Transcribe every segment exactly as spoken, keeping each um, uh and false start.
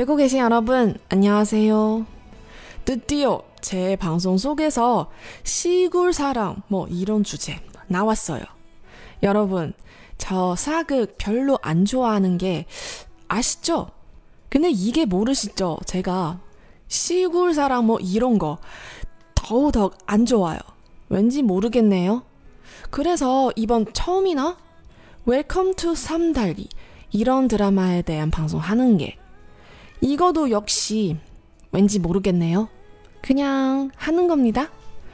듣고 계신 여러분, 안녕하세요. 드디어 제 방송 속에서 시골 사랑 뭐 이런 주제 나왔어요. 여러분, 저 사극 별로 안 좋아하는 게 아시죠? 근데 이게 모르시죠? 제가 시골 사랑 뭐 이런 거 더더욱 안 좋아요. 왠지 모르겠네요. 그래서 이번 처음이나 웰컴 투 삼달리 이런 드라마에 대한 방송하는 게 이거도 역시 왠지 모르겠네요. 그냥 하는 겁니다.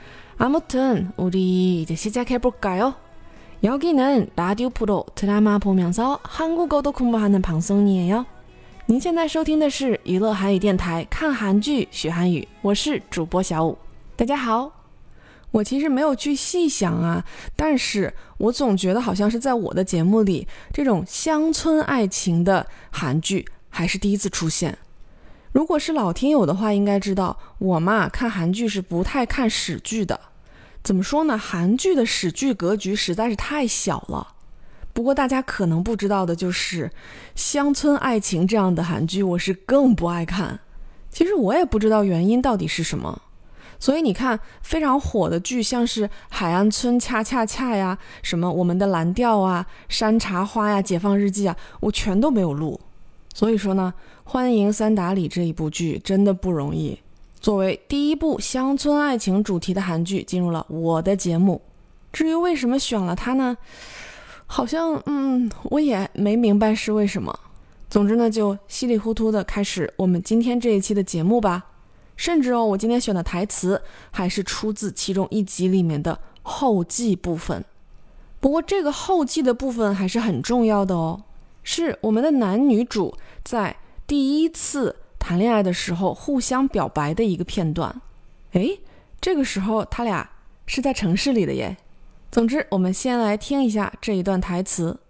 아무튼 우리 이제 시작해볼까요? 여기는 라디오 프로 드라마 보면서 한국어도 공부하는 방송이에요.您现在收听的是娱乐韩语电台看韩剧学韩语，我是主播小五。大家好。我其实没有去细想啊，但是我总觉得好像是在我的节目里，这种乡村爱情的韩剧还是第一次出现。如果是老听友的话，应该知道我嘛看韩剧是不太看史剧的。怎么说呢？韩剧的史剧格局实在是太小了。不过大家可能不知道的就是，乡村爱情这样的韩剧我是更不爱看。其实我也不知道原因到底是什么。所以你看非常火的剧，像是海岸村恰恰恰呀，什么我们的蓝调啊，山茶花呀，解放日记啊，我全都没有录。所以说呢，欢迎三打里这一部剧真的不容易，作为第一部乡村爱情主题的韩剧进入了我的节目。至于为什么选了它呢，好像嗯我也没明白是为什么。总之呢，就稀里糊涂的开始我们今天这一期的节目吧。甚至哦，我今天选的台词还是出自其中一集里面的后记部分。不过这个后记的部分还是很重要的哦，是我们的男女主在第一次谈恋爱的时候互相表白的一个片段。诶，这个时候他俩是在城市里的耶。总之，我们先来听一下这一段台词。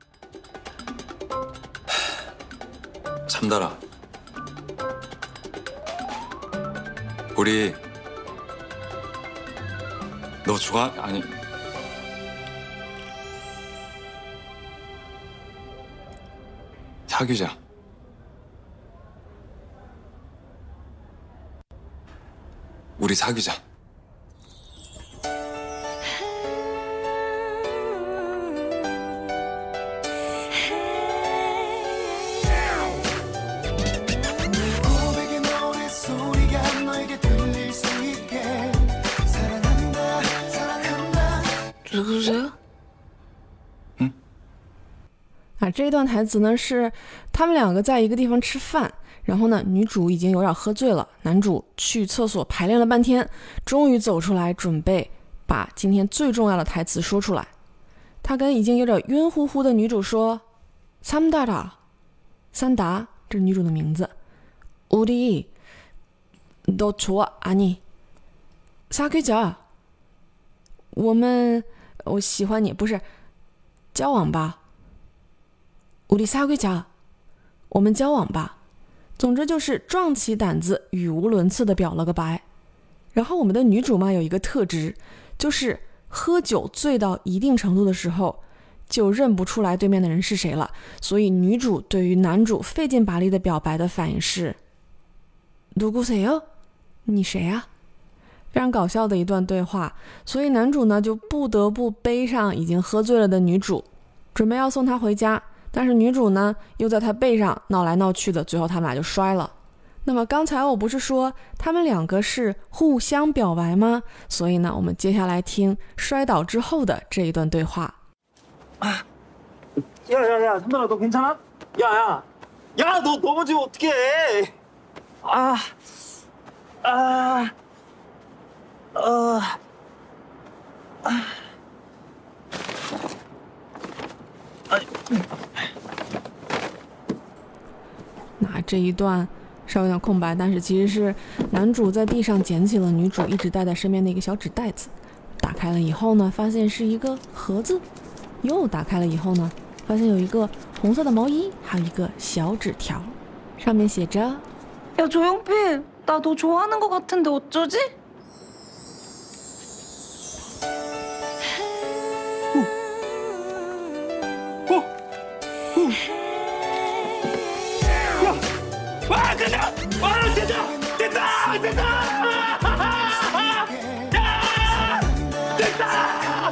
참달아 우리 너 좋아? 아니 사귀자. 우리 사귀자. 누구세요? 嗯啊，这一段台词呢是他们两个在一个地方吃饭，然后呢女主已经有点喝醉了，男主去厕所排练了半天，终于走出来准备把今天最重要的台词说出来。他跟已经有点晕乎乎的女主说三达达，三达，这是女主的名字。우리 너 좋아? 아니 사귀자，我们我喜欢你，不是交往吧。우리 사귀자，我们交往吧。总之就是壮起胆子语无伦次的表了个白。然后我们的女主嘛有一个特质，就是喝酒醉到一定程度的时候就认不出来对面的人是谁了，所以女主对于男主费劲巴力的表白的反应是누구세요？你谁啊？非常搞笑的一段对话。所以男主呢就不得不背上已经喝醉了的女主，准备要送她回家，但是女主呢又在他背上闹来闹去的，最后他们俩就摔了。那么刚才我不是说他们两个是互相表白吗？所以呢我们接下来听摔倒之后的这一段对话。 야야야 삼달아 너 괜찮아? 야야 야 너 넘어지면 어떡해. 아 아 어 아 那这一段稍微有点空白，但是其实是男主在地上捡起了女主一直带在身边的一个小纸袋子，打开了以后呢发现是一个盒子，又打开了以后呢发现有一个红色的毛衣，还有一个小纸条，上面写着 야 조용필, 나 너 좋아하는 것 같은데 어쩌지? 야! 와! 됐다! 됐다! 됐다! 됐다!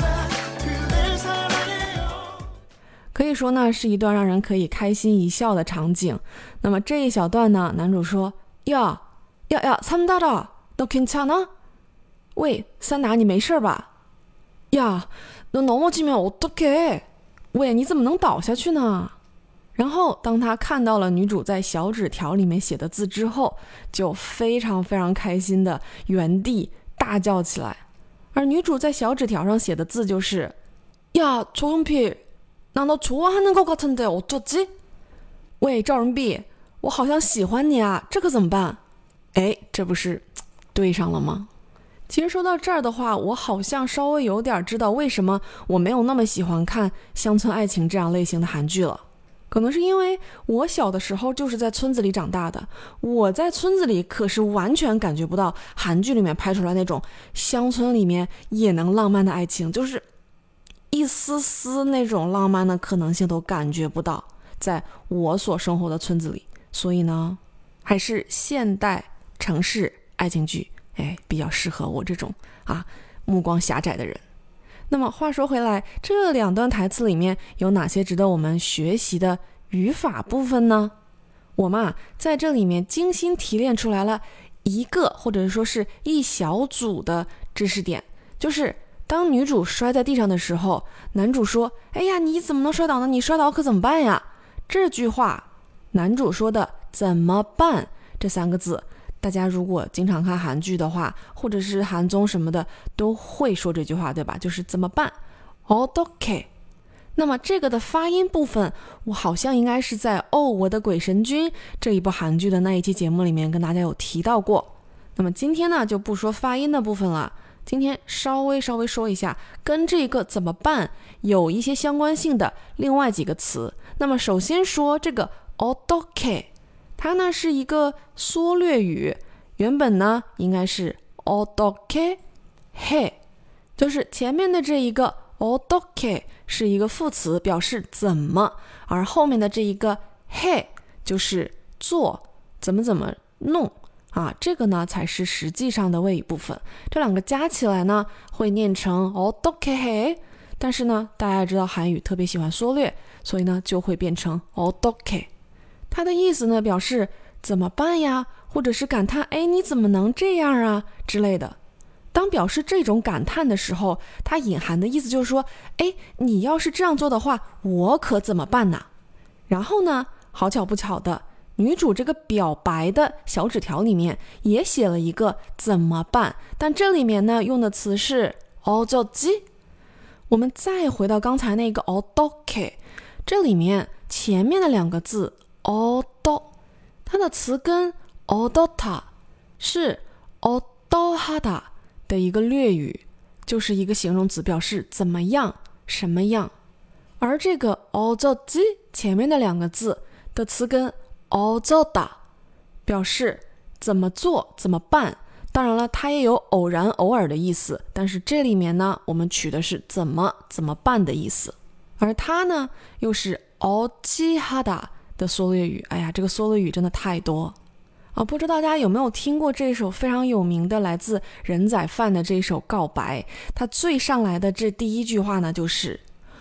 可以说呢，是一段让人可以开心一笑的场景。那么这一小段呢，男主说：“呀呀呀，삼달아，너 괜찮아？喂，三达，你没事吧？呀，너 넘어지면 어떡해？喂，你怎么能倒下去呢？”然后当他看到了女主在小纸条里面写的字之后，就非常非常开心的原地大叫起来。而女主在小纸条上写的字就是：“呀，조용필，나 너 좋아하는 것 같은데 어쩌지？喂，赵仁碧，我好像喜欢你啊，这可怎么办？”哎，这不是对上了吗？其实说到这儿的话，我好像稍微有点知道为什么我没有那么喜欢看乡村爱情这样类型的韩剧了。可能是因为我小的时候就是在村子里长大的，我在村子里可是完全感觉不到韩剧里面拍出来那种乡村里面也能浪漫的爱情，就是一丝丝那种浪漫的可能性都感觉不到在我所生活的村子里。所以呢，还是现代城市爱情剧，哎，比较适合我这种啊目光狭窄的人。那么话说回来，这两段台词里面有哪些值得我们学习的语法部分呢？我嘛在这里面精心提炼出来了一个或者说是一小组的知识点，就是当女主摔在地上的时候，男主说：“哎呀，你怎么能摔倒呢？你摔倒可怎么办呀？”这句话男主说的“怎么办”这三个字，大家如果经常看韩剧的话，或者是韩综什么的，都会说这句话，对吧？就是怎么办 어떡해。 那么这个的发音部分，我好像应该是在《哦，我的鬼神君》这一部韩剧的那一期节目里面跟大家有提到过。那么今天呢，就不说发音的部分了，今天稍微稍微说一下跟这个怎么办有一些相关性的另外几个词。那么首先说这个 어떡해， 它呢是一个缩略语，原本呢应该是 어떡해 해， 就是前面的这一个 어떡해是一个副词，表示怎么，而后面的这一个 해就是做，怎么怎么弄啊，这个呢才是实际上的谓语部分。这两个加起来呢会念成 어떡해 해， 但是呢大家知道韩语特别喜欢缩略，所以呢就会变成 어떡해。它的意思呢表示怎么办呀，或者是感叹哎你怎么能这样啊之类的。当表示这种感叹的时候，它隐含的意思就是说，哎你要是这样做的话，我可怎么办呢？然后呢好巧不巧的，女主这个表白的小纸条里面也写了一个怎么办，但这里面呢用的词是어쩌지。我们再回到刚才那个어떡해，这里面前面的两个字어떠，它的词根어떻다是어떠하다的一个略语，就是一个形容词，表示怎么样什么样。而这个어쩌지前面的两个字的词根어쩌다表示怎么做怎么办。当然了，它也有偶然偶尔的意思，但是这里面呢我们取的是怎么怎么办的意思。而它呢又是어찌하다的缩略语。哎呀，这个缩略语真的太多啊！不知道大家有没有听过这首非常有名的来自人仔饭的这首告白，它最上来的这第一句话呢就是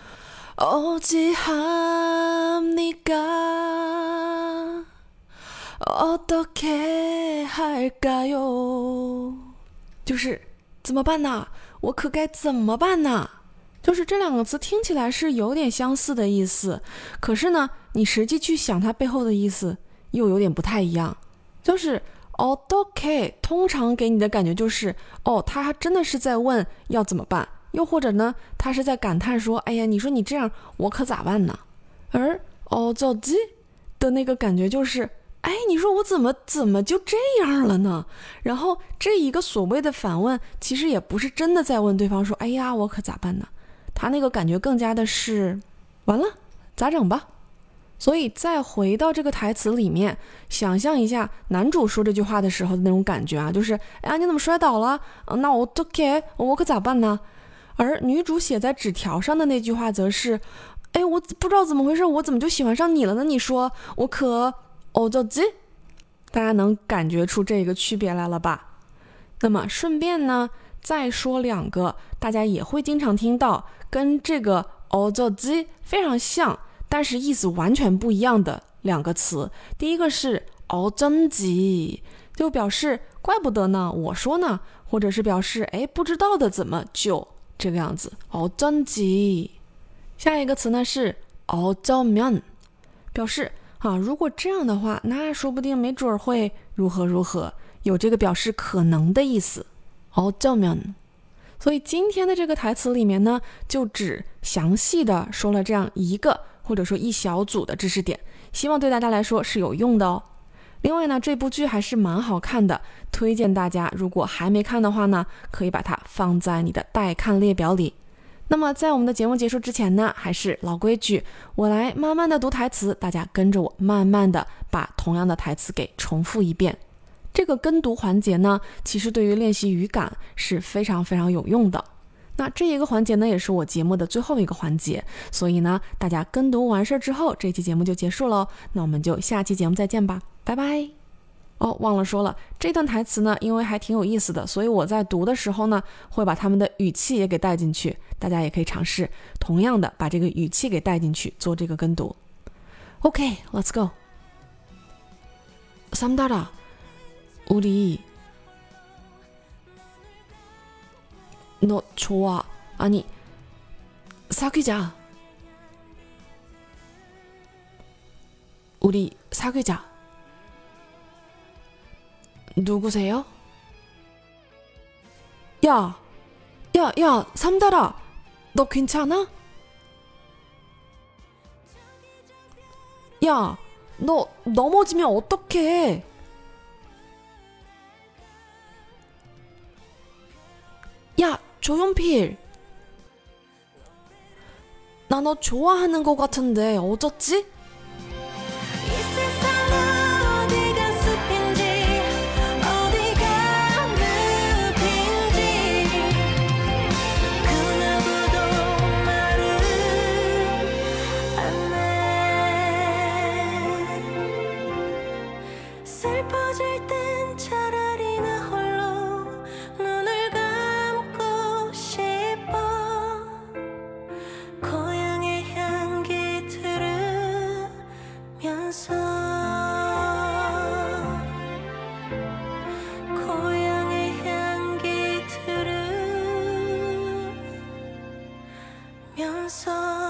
어찌합니까 어떻게 할까요， 就是怎么办呢？我可该怎么办呢？就是这两个词听起来是有点相似的意思，可是呢你实际去想它背后的意思又有点不太一样。就是어떻게通常给你的感觉就是哦，他真的是在问要怎么办，又或者呢他是在感叹说哎呀你说你这样我可咋办呢。而어쩌지的那个感觉就是哎你说我怎么怎么就这样了呢。然后这一个所谓的反问其实也不是真的在问对方说哎呀我可咋办呢，他那个感觉更加的是完了咋整吧。所以再回到这个台词里面，想象一下男主说这句话的时候的那种感觉啊，就是哎呀你怎么摔倒了、啊、那我 어떡해 我可咋办呢。而女主写在纸条上的那句话则是哎我不知道怎么回事，我怎么就喜欢上你了呢，你说我可어쩌지。 大家能感觉出这个区别来了吧？那么顺便呢，再说两个大家也会经常听到跟这个어쩌지非常像，但是意思完全不一样的两个词。第一个是어쩐지，就表示怪不得呢，我说呢，或者是表示哎不知道的怎么就这个样子。어쩐지。下一个词呢是어쩌면，表示啊，如果这样的话，那说不定没准会如何如何，有这个表示可能的意思。어쩌면。所以今天的这个台词里面呢，就只详细的说了这样一个或者说一小组的知识点，希望对大家来说是有用的哦。另外呢，这部剧还是蛮好看的，推荐大家如果还没看的话呢，可以把它放在你的待看列表里。那么在我们的节目结束之前呢，还是老规矩，我来慢慢的读台词，大家跟着我慢慢的把同样的台词给重复一遍。这个跟读环节呢，其实对于练习语感是非常非常有用的。那这一个环节呢，也是我节目的最后一个环节，所以呢，大家跟读完事之后，这期节目就结束了。那我们就下期节目再见吧，拜拜。哦，忘了说了，这段台词呢，因为还挺有意思的，所以我在读的时候呢，会把他们的语气也给带进去，大家也可以尝试同样的把这个语气给带进去做这个跟读。OK, let's go. 삼달아, 우리 너 좋아. 아니, 사귀자. 우리 사귀자. 누구세요? 야, 야, 야, 삼달아, 너 괜찮아? 야, 너 넘어지면 어떡해? 야, 조용필. 나 너 좋아하는 것 같은데 어쩌지? 슬퍼질 땐 차라리 나 홀로 눈을 감고 싶어. 고향의 향기 들으면서 고향의 향기 들으면서